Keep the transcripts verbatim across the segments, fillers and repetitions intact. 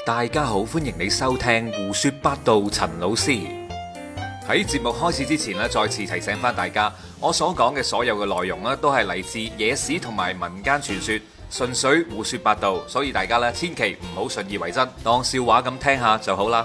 大家好，歡迎你收聽胡說八道。陳老師喺節目開始之前咧，再次提醒翻大家，我所講嘅所有嘅內容咧，都係嚟自野史同埋民間傳說，純粹胡說八道，所以大家咧千祈唔好信以為真，當笑話咁聽下就好啦。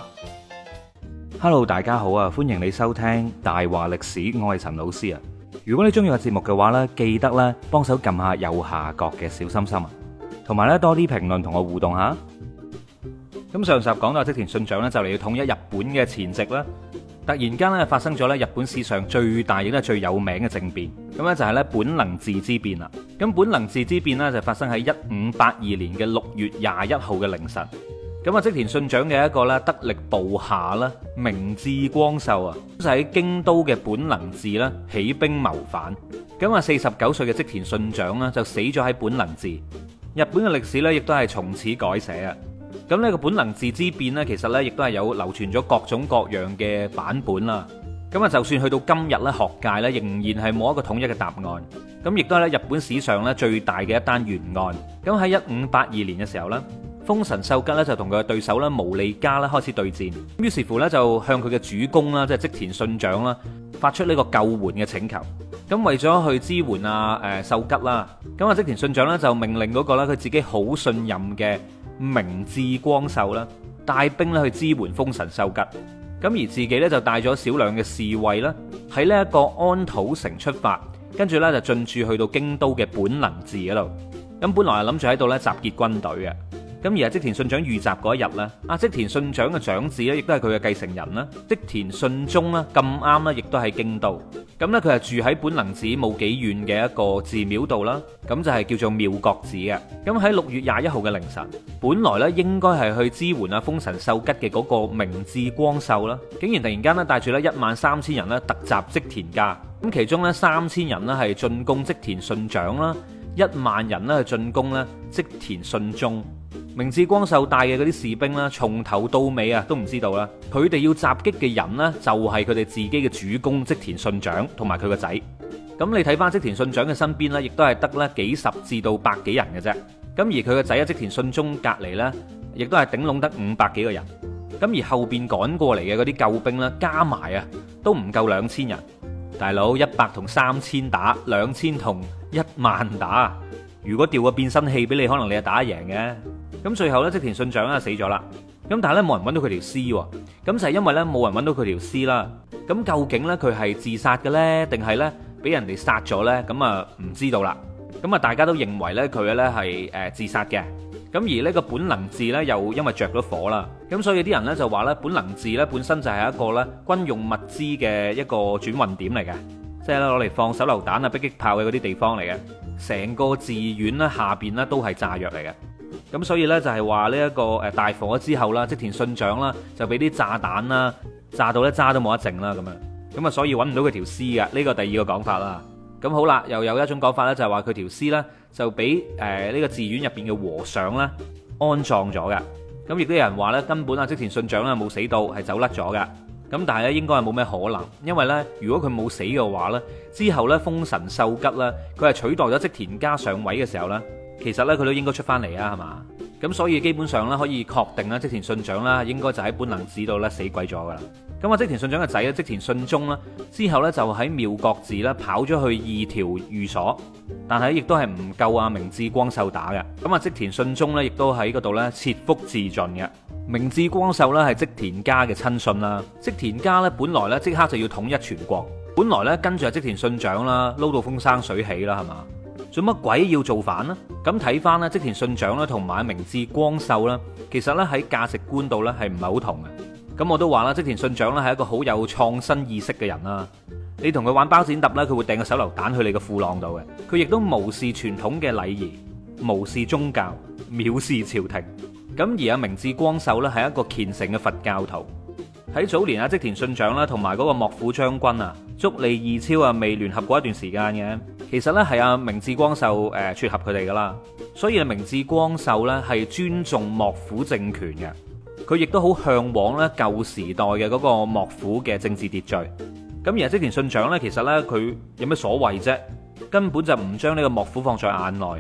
Hello， 大家好啊，歡迎你收聽大話歷史，我係陳老師啊。如果你中意個節目嘅話呢，記得咧幫手撳下右下角嘅小心心啊，同埋咧多啲評論同我互動下。咁上集講到織田信長咧就嚟要統一日本嘅前夕啦，突然間咧發生咗咧日本史上最大亦都係最有名嘅政變，咁咧就係咧本能寺之變啦。咁本能寺之變咧就發生喺一五八二年嘅六月廿一號嘅凌晨。咁啊織田信長嘅一個咧得力部下啦，明智光秀啊，就喺京都嘅本能寺啦起兵謀反。咁啊四十九歲嘅織田信長啦就死咗喺本能寺。日本嘅歷史咧亦都係從此改寫啊。咁呢個本能寺之變呢，其實呢亦都係有流傳咗各種各樣嘅版本啦。咁啊，就算去到今日咧，學界呢仍然係冇一個統一嘅答案。咁亦都係咧日本史上咧最大嘅一單懸案。咁喺一五八二年嘅時候呢，豐臣秀吉呢就同佢嘅對手咧毛利家咧開始對戰。於是乎呢，就向佢嘅主公啦，即係織田信長啦，發出呢個救援嘅請求。咁為咗去支援啊誒秀吉啦，咁啊織田信長呢就命令嗰個咧佢自己好信任嘅明智光秀啦，帶兵咧去支援豐臣秀吉，咁而自己咧就帶咗少量嘅侍衛啦，喺呢一個安土城出發，跟住咧就進駐去到京都嘅本能寺嗰度。咁本來係諗住喺度咧集結軍隊嘅，咁而係織田信長遇襲嗰一日咧，阿織田信長嘅長子咧，亦都係佢嘅繼承人啦，織田信忠啦，咁啱咧，亦都喺京都。咁咧佢係住喺本能寺冇幾遠嘅一個寺廟度啦，咁就係叫做妙覺寺嘅。咁喺六月廿一號嘅凌晨，本來咧應該係去支援阿豐臣秀吉嘅嗰個明智光秀啦，竟然突然間咧帶住咧一萬三千人咧突襲織田家。咁其中咧三千人咧係進攻織田信長啦，一萬人咧係進攻咧織田信忠。明智光秀帶嘅嗰啲士兵啦，從頭到尾啊都唔知道啦，佢哋要襲擊嘅人呢，就係佢哋自己嘅主公織田信長同埋佢個仔。咁你睇翻織田信長嘅身邊呢，亦都係得咧幾十至到百幾人嘅啫。咁而佢個仔啊織田信忠隔離呢，亦都係頂籠得五百幾個人。咁而後邊趕過嚟嘅嗰啲救兵呢，加埋啊都唔夠兩千人。大佬，一百同三千打，兩千同一萬打，如果調個變身器俾你，可能你係打得贏嘅。咁最後咧，織田信長啊死咗啦。咁但係咧冇人揾到佢條屍喎。咁就係因為咧冇人揾到佢條屍啦。咁究竟咧佢係自殺嘅咧，定係咧俾人哋殺咗咧？咁啊唔知道啦。咁啊大家都認為咧佢咧係誒自殺嘅。咁而呢個本能寺咧又因為着咗火啦。咁所以啲人咧就話咧本能寺咧本身就係一個咧軍用物資嘅一個轉運點嚟嘅，即係咧攞嚟放手榴彈啊、迫擊炮嘅嗰啲地方嚟嘅。成個寺院咧下邊咧都係炸藥嚟嘅。咁所以呢，就係話呢一個誒大火之後啦，織田信長啦就俾啲炸彈啦炸到咧渣都冇得剩啦咁樣，咁啊所以揾唔到佢條屍嘅，呢個第二個講法啦。咁好啦，又有一種講法呢，就係話佢條屍呢就俾誒呢個寺院入邊嘅和尚啦安葬咗嘅。咁亦都有人話呢，根本啊織田信長咧冇死到，係走甩咗嘅。咁但係咧應該係冇咩可能，因為呢，如果佢冇死嘅話呢，之後呢，豐臣秀吉啦佢係取代咗織田家上位嘅時候呢。其實咧佢都應該出翻嚟啊，係嘛？咁所以基本上咧可以確定啦，織田信長啦應該就喺本能寺度咧死鬼咗噶啦。咁啊織田信長嘅仔咧織田信忠啦，之後咧就喺妙覺寺咧跑咗去二條寓所，但係亦都係唔夠啊明智光秀打嘅。咁啊織田信忠咧亦都喺嗰度咧切腹自盡嘅。明智光秀咧係織田家嘅親信啦，織田家咧本來咧即刻就要統一全國，本來咧跟住啊織田信長啦撈到風生水起啦，係嘛？做乜鬼要造反呢？咁睇翻咧，織田信長啦，同埋明智光秀啦，其實咧喺價值觀度咧係唔係好同嘅。咁我都話啦，織田信長咧係一個好有創新意識嘅人啦。你同佢玩包剪揼咧，佢會掟個手榴彈去你個褲浪度嘅。佢亦都無視傳統嘅禮儀，無視宗教，藐視朝廷。咁而阿明智光秀咧係一個虔誠嘅佛教徒。喺早年啊，織田信長啦，同埋嗰個幕府將軍啊，足利義昭啊，未聯合過一段時間嘅。其實咧係阿明智光秀誒撮合佢哋噶啦，所以啊明智光秀咧係尊重幕府政權嘅，佢亦都好向往咧舊時代嘅嗰個幕府嘅政治秩序。咁而織田信長咧，其實咧佢有咩所謂啫？根本就唔將呢個幕府放在眼內。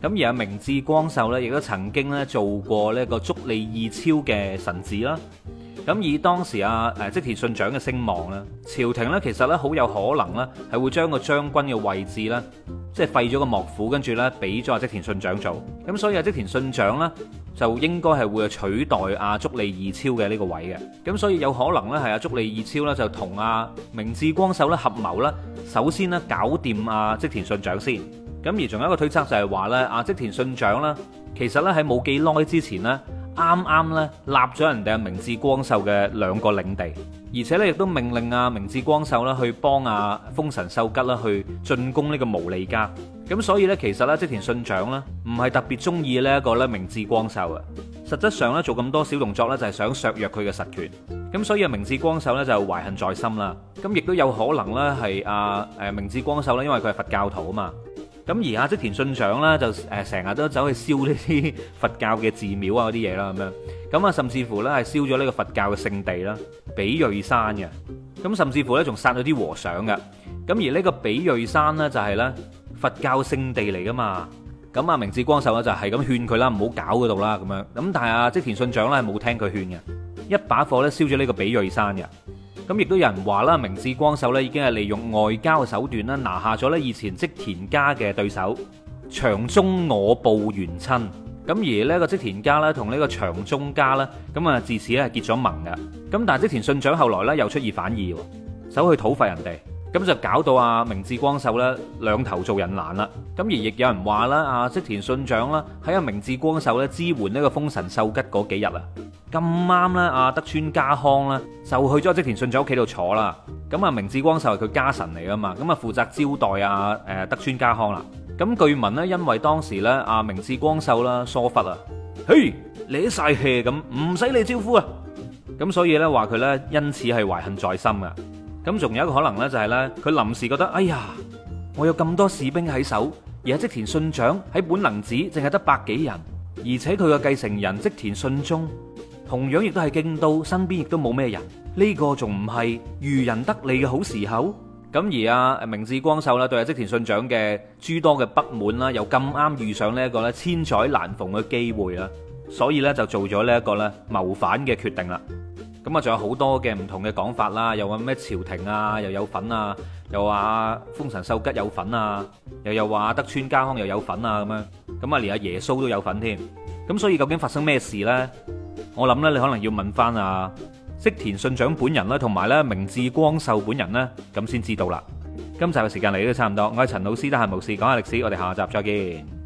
咁而阿明智光秀咧，亦都曾經咧做過呢個足利義昭嘅臣子啦。咁以當時阿誒織田信長嘅聲望咧，朝廷咧其實咧好有可能咧係會將個將軍嘅位置咧，即係廢咗個幕府，跟住咧俾咗阿織田信長做。咁所以阿織田信長咧就應該係會取代阿足利義昭嘅呢個位嘅。咁所以有可能咧係阿足利義昭咧就同阿明智光秀咧合謀啦，首先咧搞掂阿織田信長先。咁而仲有一個推測就係話咧，阿織田信長咧其實咧喺冇幾耐之前咧，啱啱咧立咗人哋阿明智光秀嘅兩個領地，而且咧亦都命令阿明智光秀啦去幫阿豐臣秀吉啦去進攻呢個毛利家。咁所以咧其實咧織田信長咧唔係特別中意呢一個咧明智光秀啊，實質上咧做咁多小動作咧就係想削弱佢嘅實權。咁所以啊明智光秀咧就懷恨在心啦。咁亦都有可能咧係阿誒明智光秀咧，因為佢係佛教徒啊嘛。咁而阿織田信長咧就誒成日都走去燒呢啲佛教嘅寺廟啊嗰啲嘢啦咁樣，咁啊甚至乎咧係燒咗呢個佛教嘅聖地啦，比叡山嘅，咁甚至乎咧仲殺咗啲和尚嘅。咁而呢個比叡山咧就係咧佛教聖地嚟噶嘛，咁啊明智光秀咧就係咁勸佢啦，唔好搞嗰度啦咁樣，咁但係阿織田信長咧係冇聽佢勸嘅，一把火咧燒咗呢個比叡山嘅。咁亦都有人話啦，明智光秀咧已經係利用外交嘅手段啦，拿下咗咧以前織田家嘅對手長宗我部元親。咁而呢個織田家咧同呢個長宗家咧，咁啊自此咧係結咗盟嘅。咁但係織田信長後來咧又出爾反爾，走去討伐人哋，咁就搞到阿明智光秀咧兩頭做人難啦。咁而亦有人話啦，阿織田信長啦喺阿明智光秀咧支援呢個豐臣秀吉嗰幾日啊，咁啱咧，阿德川家康咧就去咗織田信長屋企度坐啦。咁啊，明智光秀係佢家臣嚟噶嘛，咁啊負責招待阿誒德川家康啦。咁據聞咧，因為當時咧阿明智光秀啦疏忽啊，嘿，你晒氣咁，唔使你招呼啊。咁所以咧話佢咧因此係懷恨在心噶。咁仲有一個可能咧就係咧，佢臨時覺得，哎呀，我有咁多士兵喺手，而阿織田信長喺本能寺淨係得百幾人，而且佢嘅繼承人織田信忠同樣亦都係京都，身邊亦都冇咩人，呢個仲唔係漁人得利嘅好時候？咁而阿明智光秀啦，對阿織田信長嘅諸多嘅不滿啦，又咁啱遇上呢一個咧千載難逢嘅機會啦，所以咧就做咗呢一個咧謀反嘅決定啦。咁啊，仲有好多嘅唔同嘅講法啦，又話咩朝廷啊又有份啊，又話豐臣秀吉有份啊，又又話德川家康又有份啊咁樣，咁啊連阿耶穌都有份添。咁所以究竟發生咩事呢？我諗咧，你可能要問翻啊織田信長本人啦，同埋咧明智光秀本人咧，咁先知道啦。今集嘅時間嚟到差唔多，我係陳老師，得閒無事講下歷史，我哋下集再見。